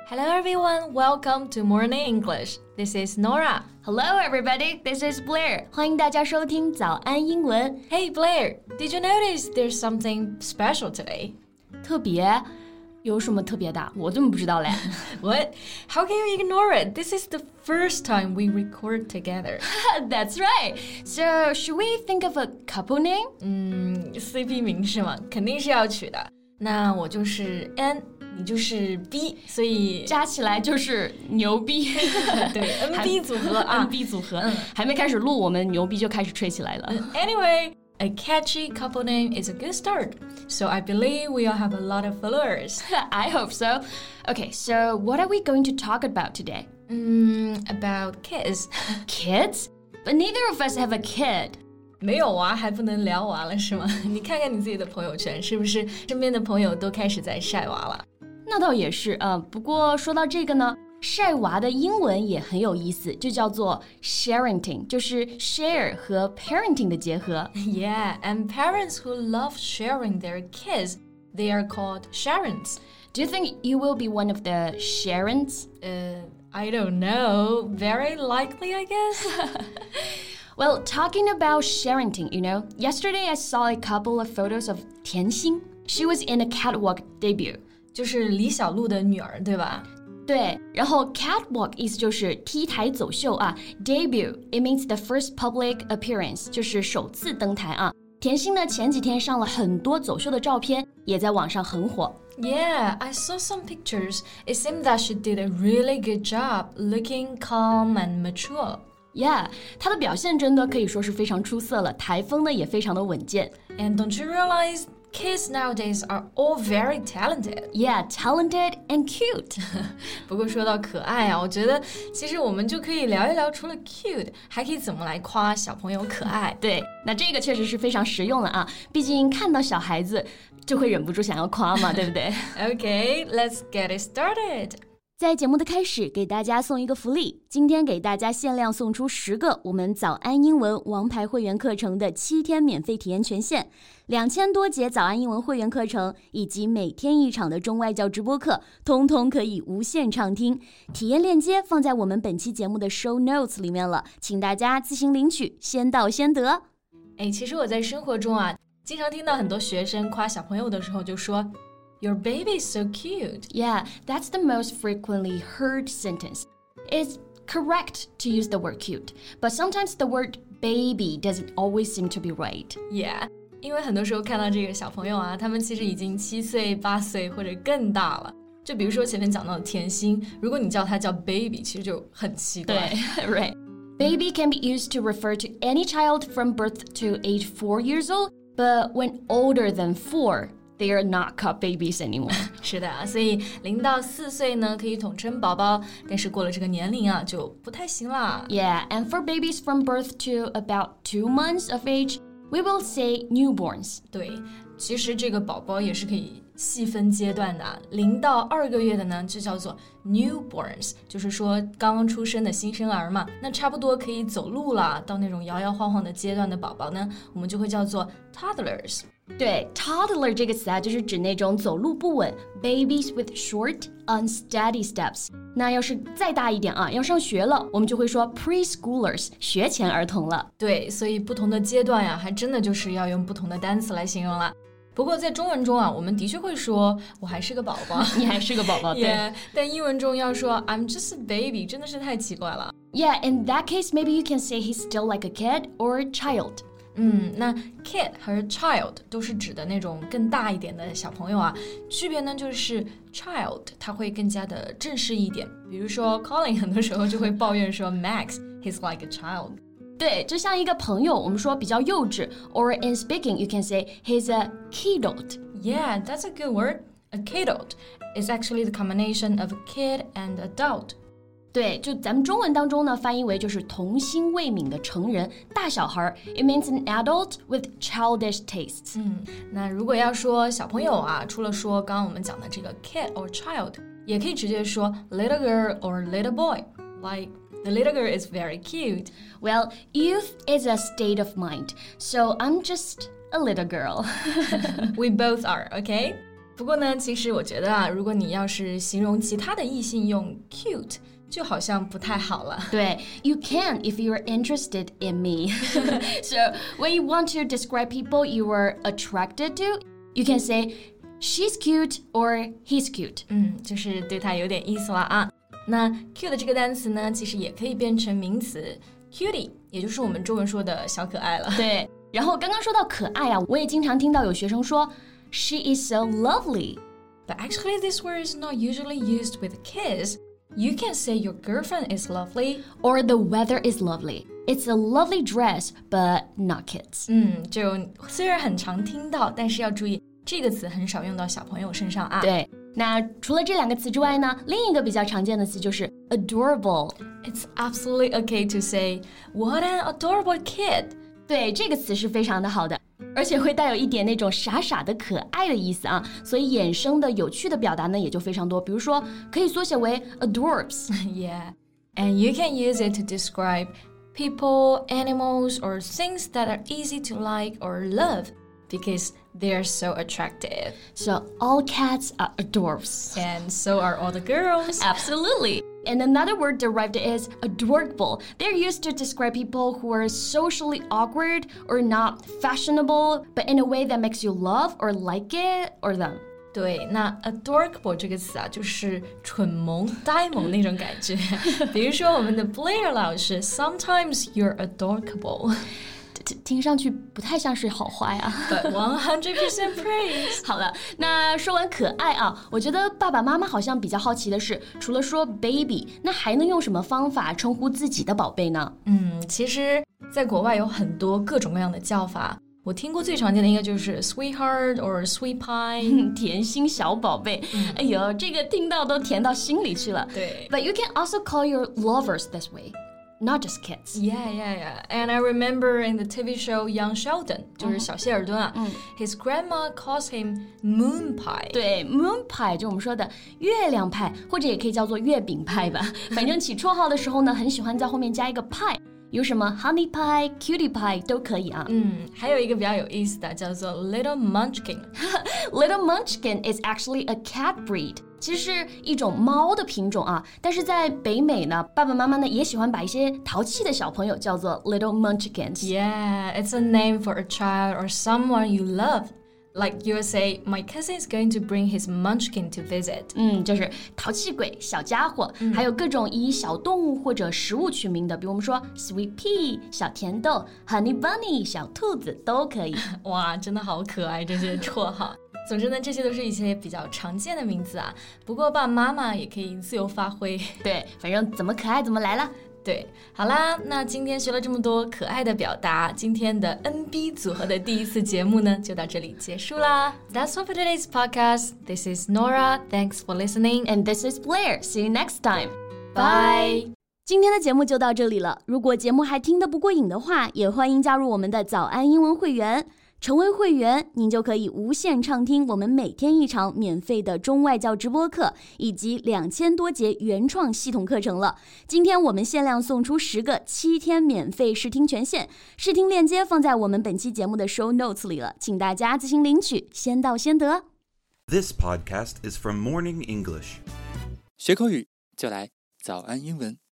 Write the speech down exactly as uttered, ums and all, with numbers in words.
Hello everyone, welcome to Morning English. This is Nora. Hello everybody, this is Blair. 欢迎大家收听早安英文。 Hey Blair, did you notice there's something special today? 特别？有什么特别的？我怎么不知道嘞？ What? How can you ignore it? This is the first time we record together. That's right. So, should we think of a couple name? 嗯 ，C P 名是吗？肯定是要取的。那我就是 N， 你就是 B， 所以加起来就是牛逼。 对 ，N B 组合啊 ，N B 组合。嗯，还没开始录，我们牛逼就开始吹起来了。 Anyway.A catchy couple name is a good start. So I believe we'll have a lot of followers. I hope so. Okay, so what are we going to talk about today? Mm, about kids. Kids? But neither of us have a kid. 没有啊，还不能聊娃了是吗？你看看你自己的朋友圈，是不是身边的朋友都开始在晒娃了？ 那倒也是啊，不过说到这个呢，晒娃的英文也很有意思，就叫做 sharenting， 就是 share 和 parenting 的结合。 Yeah, and parents who love sharing their kids, they are called sharents. Do you think you will be one of the sharents? Uh, I don't know. Very likely, I guess. Well, talking about sharenting, you know, yesterday I saw a couple of photos of Tian Xin. She was in a catwalk debut. 就是李小璐的女儿，对吧？ 对，然后 catwalk 意思就是 T 台走秀啊 ，debut it means the first public appearance 就是首次登台啊。甜心呢前几天上了很多走秀的照片，也在网上很火。 Yeah, I saw some pictures. It seemed that she did a really good job, looking calm and mature. Yeah, 她的表现真的可以说是非常出色了，台风呢也非常的稳健。 And don't you realize?Kids nowadays are all very talented. Yeah, talented and cute. 不过说到可爱啊，我觉得其实我们就可以聊一聊，除了 cute， 还可以怎么来夸小朋友可爱。 对，那这个确实是非常实用了啊，毕竟看到小孩子就会忍不住想要夸嘛，对不对？ Okay, let's get it started. 在节目的开始，给大家送一个福利。今天给大家限量送出十个我们早安英文王牌会员课程的七天免费体验权限，两千多节早安英文会员课程以及每天一场的中外教直播课，通通可以无限畅听。体验链接放在我们本期节目的 show notes 里面了，请大家自行领取，先到先得。 哎，其实我在生活中啊，经常听到很多学生夸小朋友的时候就说Your baby is so cute. Yeah, that's the most frequently heard sentence. It's correct to use the word cute, but sometimes the word baby doesn't always seem to be right. Yeah, 因为很多时候看到这个小朋友啊，他们其实已经七岁、八岁或者更大了。就比如说前面讲到的甜心，如果你叫他叫 baby， 其实就很奇怪。 对 right. Baby can be used to refer to any child from birth to age four years old, but when older than four,They are not called babies anymore. 是的，所以零到四岁呢可以统称宝宝，但是过了这个年龄啊就不太行啦。 Yeah, and for babies from birth to about two months of age, we will say newborns. 对，其实这个宝宝也是可以细分阶段的，零到二个月的呢就叫做 newborns， 就是说刚刚出生的新生儿嘛。那差不多可以走路了，到那种摇摇晃晃的阶段的宝宝呢，我们就会叫做 toddlers。 对 toddler 这个词啊，就是指那种走路不稳 babies with short, unsteady steps。那要是再大一点啊，要上学了，我们就会说 preschoolers， 学前儿童了。 对，所以不同的阶段呀，还真的就是要用不同的单词来形容了。不过在中文中啊，我们的确会说我还是个宝宝， 你还是个宝宝，对。 Yeah, 但英文中要说 I'm just a baby， 真的是太奇怪了。 Yeah, in that case, maybe you can say he's still like a kid or a child. 嗯，那 kid 和 child 都是指的那种更大一点的小朋友啊，区别呢就是 child 它会更加的正式一点，比如说 Colin 很多时候就会抱怨说 Max he's like a child。 对，就像一个朋友，我们说比较幼稚 or in speaking you can say he's a kidult. Yeah, that's a good word. A kidult is actually the combination of a kid and adult. 对，就咱们中文当中呢，翻译为就是童心未泯的成人大小孩。It means an adult with childish tastes. 嗯，那如果要说小朋友啊，除了说刚刚我们讲的这个 kid or child， 也可以直接说 little girl or little boy. Like the little girl is very cute. Well, youth is a state of mind, so I'm just a little girl. We both are, okay? 不过呢，其实我觉得啊，如果你要是形容其他的异性用 cute， 就好像不太好了。 对 ，You can if you're interested in me. So when you want to describe people you are attracted to, you can say she's cute or he's cute. 嗯，就是对他有点意思了啊。那 cute 这个单词呢，其实也可以变成名词 cutie， 也就是我们中文说的小可爱了。 对，然后刚刚说到可爱啊，我也经常听到有学生说 She is so lovely. But actually this word is not usually used with kids. You can say your girlfriend is lovely. Or the weather is lovely. It's a lovely dress, but not kids. 嗯，就虽然很常听到，但是要注意这个词很少用到小朋友身上啊。 对，那除了这两个词之外呢，另一个比较常见的词就是 adorable. It's absolutely okay to say, what an adorable kid. 对，这个词是非常的好的，而且会带有一点那种傻傻的可爱的意思啊，所以衍生的有趣的表达呢也就非常多，比如说可以缩写为 adorbs. Yeah, and you can use it to describe people, animals, or things that are easy to like or love because they're so attractive. So all cats are adorbs. And so are all the girls. Absolutely. And another word derived is adorable. They're used to describe people who are socially awkward or not fashionable, but in a way that makes you love or like it or them. 对，那 adorable 这个词啊，就是蠢萌、呆萌那种感觉。比如说我们的 Blair 老师 ，Sometimes you're adorable. 听上去不太像是好话呀。 But one hundred percent praise. 好了，那说完可爱啊，我觉得爸爸妈妈好像比较好奇的是，除了说 baby， 那还能用什么方法称呼自己的宝贝呢？ 嗯，其实在国外有很多各种各样的叫法。我听过最常见的应该就是 sweetheart or sweet pie， 甜心小宝贝。嗯、哎呦，这个听到都甜到心里去了。 对 ，But you can also call your lovers this way.Not just kids. Yeah, yeah, yeah. And I remember in the T V show Young Sheldon, 就是小谢尔顿啊、嗯、his grandma calls him moon pie. 对 ，moon pie 就我们说的月亮派，或者也可以叫做月饼派吧。反正起绰号的时候呢，很喜欢在后面加一个派。有什么 honey pie, cutie pie 都可以啊。 嗯，还有一个比较有意思的叫做 little munchkin. Little munchkin is actually a cat breed. 其实是一种猫的品种啊，但是在北美呢，爸爸妈妈呢也喜欢把一些淘气的小朋友叫做 little munchkins. Yeah, it's a name for a child or someone you love.Like you say, my cousin is going to bring his munchkin to visit. 嗯，就是淘气鬼、小家伙、嗯，还有各种以小动物或者食物取名的，比如我们说 sweet pea 小甜豆、honey bunny 小兔子都可以。 哇，真的好可爱这些绰号。总之呢，这些都是一些比较常见的名字啊。不过爸爸妈妈也可以自由发挥。 对，反正怎么可爱怎么来了。 对，好啦，那今天学了这么多可爱的表达，今天的 N B 组合的第一次节目呢，就到这里结束啦。That's all for today's podcast. This is Nora. Thanks for listening. And this is Blair. See you next time. Bye. 今天的节目就到这里了。如果节目还听得不过瘾的话，也欢迎加入我们的早安英文会员。成为会员，您就可以无限畅听我们每天一场免费的中外教直播课，以及两千多节原创系统课程了。今天我们限量送出十个七天免费试听权限，试听链接放在我们本期节目的 show notes 里了，请大家自行领取，先到先得。 This podcast is from Morning English. 学口语就来早安英文。